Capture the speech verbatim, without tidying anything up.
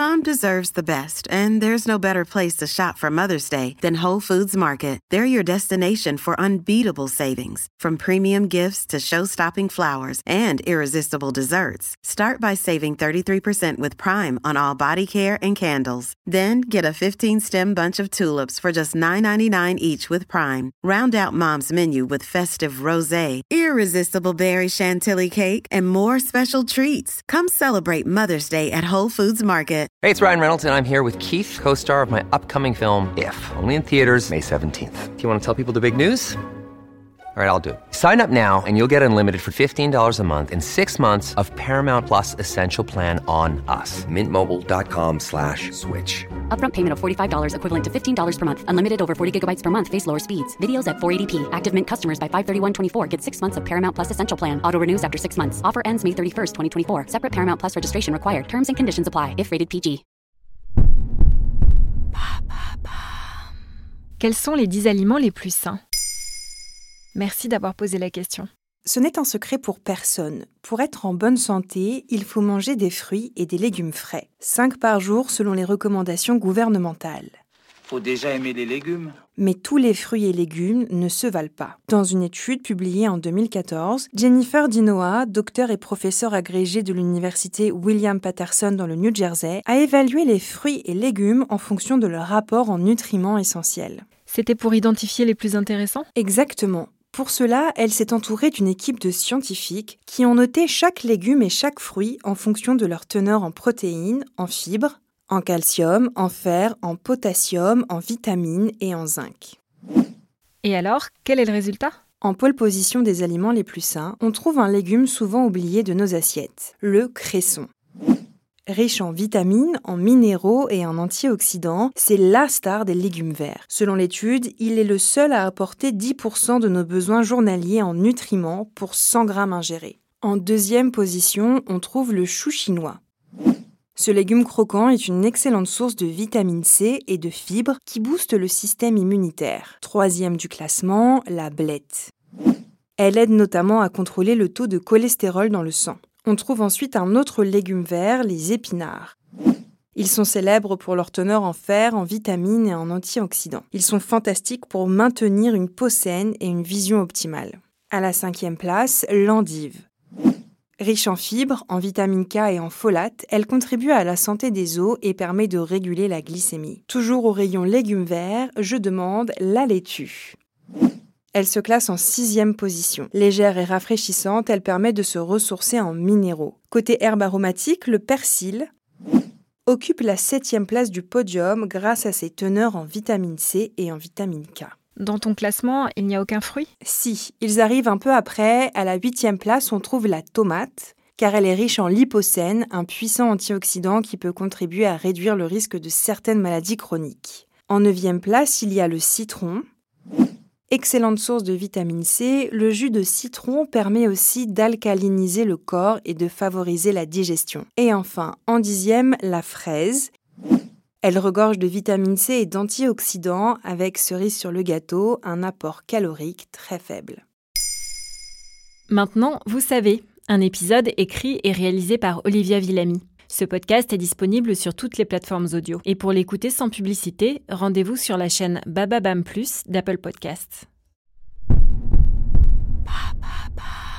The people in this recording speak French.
Mom deserves the best, and there's no better place to shop for Mother's Day than Whole Foods Market. They're your destination for unbeatable savings, from premium gifts to show-stopping flowers and irresistible desserts. Start by saving thirty-three percent with Prime on all body care and candles. Then get a fifteen-stem bunch of tulips for just nine ninety-nine each with Prime. Round out Mom's menu with festive rosé, irresistible berry chantilly cake, and more special treats. Come celebrate Mother's Day at Whole Foods Market. Hey, it's Ryan Reynolds, and I'm here with Keith, co-star of my upcoming film, If, only in theaters May seventeenth. Do you want to tell people the big news? All right, I'll do it. Sign up now and you'll get unlimited for fifteen dollars a month and six months of Paramount Plus Essential Plan on us. Mint Mobile dot com slash switch. Upfront payment of forty-five dollars equivalent to fifteen dollars per month. Unlimited over forty gigabytes per month. Face lower speeds. Videos at four eighty p. Active Mint customers by five thirty-one twenty-four get six months of Paramount Plus Essential Plan. Auto renews after six months. Offer ends May thirty-first, twenty twenty-four. Separate Paramount Plus registration required. Terms and conditions apply if rated P G. Quels sont les dix aliments les plus sains ? Merci d'avoir posé la question. Ce n'est un secret pour personne. Pour être en bonne santé, il faut manger des fruits et des légumes frais. cinq par jour selon les recommandations gouvernementales. Faut déjà aimer les légumes. Mais tous les fruits et légumes ne se valent pas. Dans une étude publiée en deux mille quatorze, Jennifer Dinoa, docteur et professeur agrégé de l'université William Patterson dans le New Jersey, a évalué les fruits et légumes en fonction de leur rapport en nutriments essentiels. C'était pour identifier les plus intéressants ? Exactement. Pour cela, elle s'est entourée d'une équipe de scientifiques qui ont noté chaque légume et chaque fruit en fonction de leur teneur en protéines, en fibres, en calcium, en fer, en potassium, en vitamines et en zinc. Et alors, quel est le résultat ? En pole position des aliments les plus sains, on trouve un légume souvent oublié de nos assiettes, le cresson. Riche en vitamines, en minéraux et en antioxydants, c'est la star des légumes verts. Selon l'étude, il est le seul à apporter dix pour cent de nos besoins journaliers en nutriments pour cent grammes ingérés. En deuxième position, on trouve le chou chinois. Ce légume croquant est une excellente source de vitamine C et de fibres qui boostent le système immunitaire. Troisième du classement, la blette. Elle aide notamment à contrôler le taux de cholestérol dans le sang. On trouve ensuite un autre légume vert, les épinards. Ils sont célèbres pour leur teneur en fer, en vitamines et en antioxydants. Ils sont fantastiques pour maintenir une peau saine et une vision optimale. À la cinquième place, l'endive. Riche en fibres, en vitamine K et en folate, elle contribue à la santé des os et permet de réguler la glycémie. Toujours au rayon légumes verts, je demande la laitue. Elle se classe en sixième position. Légère et rafraîchissante, elle permet de se ressourcer en minéraux. Côté herbe aromatique, le persil occupe la septième place du podium grâce à ses teneurs en vitamine C et en vitamine K. Dans ton classement, il n'y a aucun fruit ? Si, ils arrivent un peu après. À la huitième place, on trouve la tomate, car elle est riche en lipocène, un puissant antioxydant qui peut contribuer à réduire le risque de certaines maladies chroniques. En neuvième place, il y a le citron. Excellente source de vitamine C, le jus de citron permet aussi d'alcaliniser le corps et de favoriser la digestion. Et enfin, en dixième, la fraise. Elle regorge de vitamine C et d'antioxydants avec, cerise sur le gâteau, un apport calorique très faible. Maintenant, vous savez, un épisode écrit et réalisé par Olivia Villamy. Ce podcast est disponible sur toutes les plateformes audio. Et pour l'écouter sans publicité, rendez-vous sur la chaîne Bababam Plus d'Apple Podcasts. Ba, ba, ba.